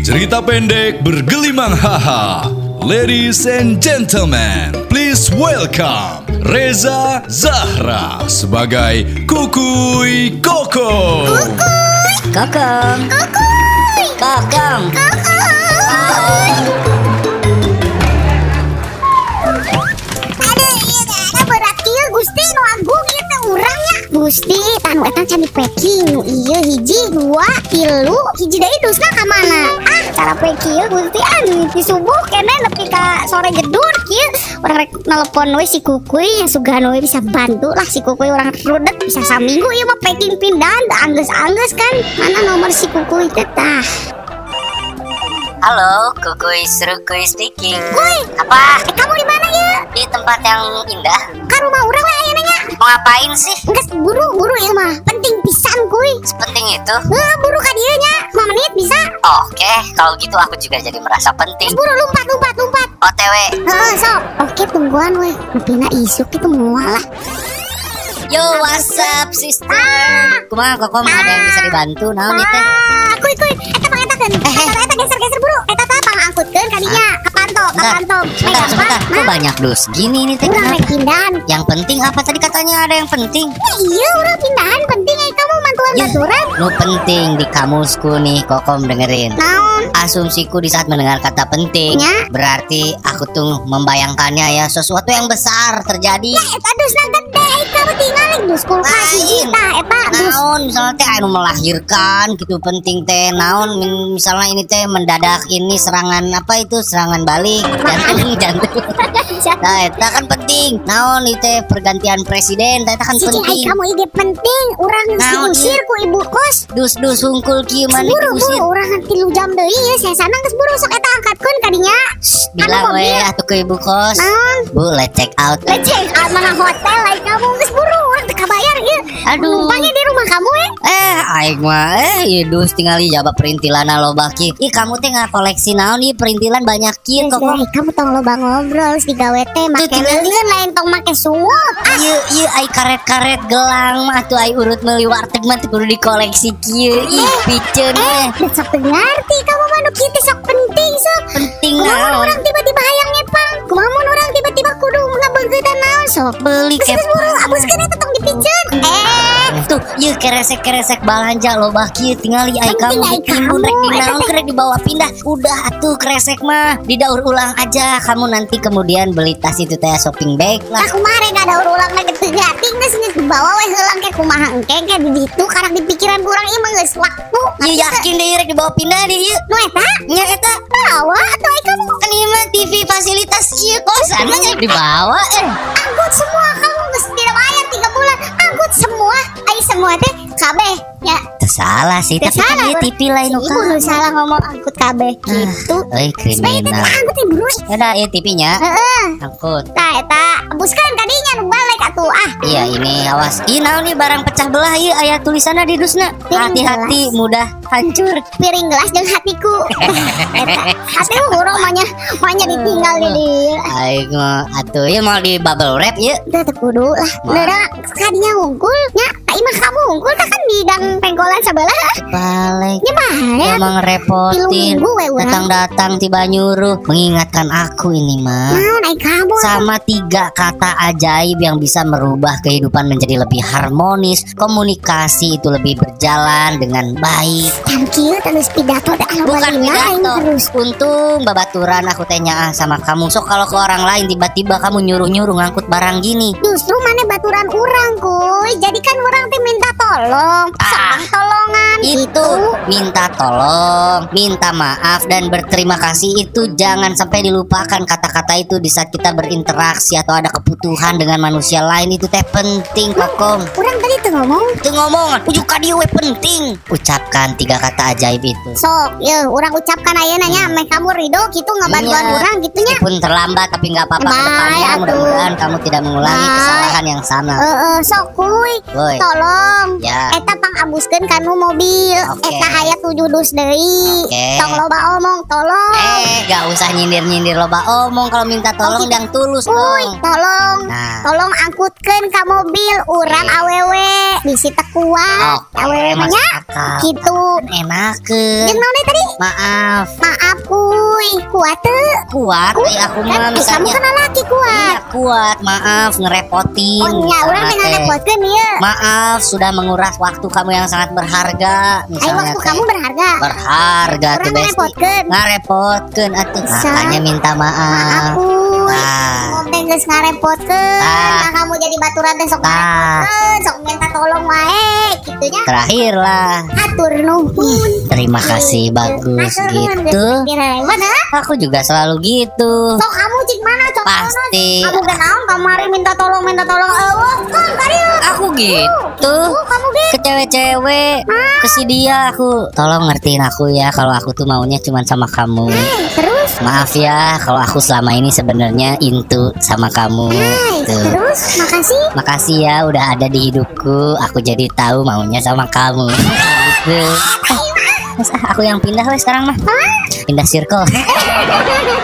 Cerita pendek bergelimang haha. Ladies and gentlemen, please welcome Reza Zahra sebagai Kukuy Kokong. Kokong. Kokong. Gusti nu agung eta urangnya Gusti tanu eta can dipeki nu ieu hiji 2 3 hiji deui dusna ka mana cara peki ieu Gusti di subuh kene nepi ka sore jedur kieu urang rek nelpon we si Kukuy yang sugano we bisa bantu lah si Kukuy urang rudet bisa saminggu ieu mah packing pindahan da anggeus-anggeus kan mana nomor si Kukuy teh tah. Halo, Kukuy Serukuy speaking. Kuy, Apa? kamu di mana ya? Di tempat yang indah. Ka rumah urang we aya nanya. Mau ngapain sih? Enggeus buru-buru ieu mah. Penting pisan Kuy. Sepenting itu? Buru ka dieu nya. 5 menit bisa? Oke, kalau gitu aku juga jadi merasa penting. Buru lompat. OTW. Sok. Oke, tungguan we. Nepina isuk itu moal lah. Yo, what's up, sister? Kumaha Kokom, ada yang bisa dibantu? Naon ieu teh? Kuy. Eta pangetakeun. Eta geser buru. Eta tah pangangkutkeun ka dinya. Kapanto. Sebentar. Kok banyak dus gini nih teh? Urang rek pindahan. Yang penting apa tadi katanya ada yang penting? Ya iya, urang pindahan penting kamu mantuan baturan. Nu penting di kamusku nih, Kokom dengerin. Naon? Asumsiku di saat mendengar kata penting, Ya? berarti aku tuh membayangkannya ya sesuatu yang besar terjadi. Eta dusna gede, kamu tinggal dus kulkas hiji tah eta dus. Naon misalnya teh anu melahirkan gitu penting teh naon misalnya ini teh mendadak ini serangan apa itu serangan balik jantung. Nah eta kan penting. Naon itu teh pergantian presiden eta kan penting. Kamu ide penting, urang diusir ku ibu kos. Dus hungkul kieu mah diusir. Buru urang 3 jam deui ya saya sana geus buru sok eta angkatkeun ka dinya. Bilang we atuh ke ibu kos. Bu, let's check out. Let's check out mana hotel lain kamu geus buru urang teu kabayar ieu. Aduh. Numpangnya di rumah kamu ya? Aing mah ieu dus tinggali jaba perintilan loba kieu. Ih kamu teh ngakoleksi naon ieu perintilan banyak kieu kok. Kamu tong loba ngobrol si gawe teh make leuleun lain tong make sungut. Ieu ai karet-karet gelang mah atuh ai urut meuli warteg mah teu kudu dikoleksi kieu. Ih piceun we. Sok ngerti kamu mah nu kieu teh sok penting sok. Penting naon. Orang tiba-tiba hayang ngepang. Kumaha mun urang tiba-tiba kudu ngabeugeudan naon sok. Beli buru abuskeun eta tong dipiceun. Tuh, ieu keresek balanja loba kieu tingali ai kamu ditimbun rek dinaon rek dibawa pindah. Udah atuh kresek mah didaur ulang aja. Kamu nanti kemudian beli tas itu teh shopping bag lah. Aku mah rek ngadaur ulang na geteu gating geus dibawa we heulang ke kumaha engke ke di ditu karena di pikiran kurang ieu mah geus waktu. Ieu yakin deh rek dibawa pindah deh ieu. Nu eta? Nya eta bawa atuh ai kamu. Kan ieu mah TV fasilitas ieu kosan mah dibawa angkut semua kamu geus dibayar 3 bulan. Angkut semua. Ai semua teh kabeh ya. Salah sih, tapi kan ieu TV lain nu kan. Ibu salah ngomong angkut kabeh gitu. Euy kriminal. Angkut ieu buru. Yaudah ieu TV-nya. Heeh. Angkut. Tah eta buskeun ka dinya nu balik atuh Iya ini awas. Ih naon nih barang pecah belah ieu aya tulisanna di dusna. Hati-hati mudah hancur. Piring gelas jeung hatiku. Eta hati urang manya ditinggal di dieu. Aing mah atuh ieu mau di bubble wrap ieu. Teu kudu lah. Leura kadinya hungkul nya. Imah kamu hungkul kan di gang pengkolan sebelah. Balik. Nya mah emang repotin. Datang-datang tiba nyuruh mengingatkan aku ini mah. Naon ai kamu? Sama 3 kata ajaib yang bisa merubah kehidupan menjadi lebih harmonis. Komunikasi itu lebih berjalan dengan baik. Kieu terus pidato teh bukan pidato. Untung babaturan aku tanya sama kamu. So kalau ke orang lain tiba-tiba kamu nyuruh-nyuruh ngangkut barang gini. Justru mana baturan urang kuy. Jadi kan urang teh minta tolong. Tolongan itu minta tolong, minta maaf dan berterima kasih itu jangan sampai dilupakan kata-kata itu di saat kita berinteraksi atau ada kebutuhan dengan manusia lain itu teh penting Kokom. Urang tadi tuh ngomong ujuk ka dieu we penting. Ucapkan 3 kata ajaib itu. Sok, yeuh urang ucapkan ayeuna nya meh kamu ridho kitu ngabantuan urang kitu nya. Meskipun terlambat tapi enggak apa-apa kedepannya mudah-mudahan kamu tidak mengulangi kesalahan yang sama. Sok kuy. tolong. Ya. Eta pangabuskeun kanu mobil. Oke. Eta aya 7 dus deui. Oke. Tong loba omong, tolong. Gak usah nyindir-nyindir loba omong. Kalau minta tolong yang tulus Uy, dong. tolong. Nah. Tolong angkutkeun ka mobil urang awewe. Bisi teu kuat. Oke, Awewe mah masuk nya. akal. Kitu. Enakeun. Jeung naon tadi? Maaf. Maaf kuy. Kuat teu? Kuat aku mah Kan kamu misalnya. kan laki kuat. Iya kuat. Maaf ngerepotin. Oh nya, urang teh Misalnya teh. ngarepotkeun ieu. Maaf sudah menguras waktu kamu yang sangat berharga. Ayo Misalnya waktu teh. kamu berharga. Berharga tuh Urang Besti. ngarepotkeun. Ngarepotkeun atuh. Sa- Makanya minta Maaf maaf. kuy. Ah. Om teh geus ngarepotkeun. Ah. Nah, kamu jadi baturan teh sok Ah. ngarepotkeun, sok minta tolong wae kitu nya. Terakhir lah. Atur nuhun. Terima kasih bagus gitu. Mana? Aku juga selalu gitu. Sok kamu cik mana cok Pasti. kamu kenaon kamari minta tolong kan karieu. Aku gitu. Kamu gitu. Ke cewek-cewek, ke si dia aku. Tolong ngertiin aku ya kalau aku tuh maunya cuma sama kamu. Terus Maaf ya kalau aku selama ini sebenarnya into sama kamu. Tuh. terus makasih. Makasih ya udah ada di hidupku. Aku jadi tahu maunya sama kamu. Gitu. Mas, aku yang pindah weh sekarang mah. Pindah circle.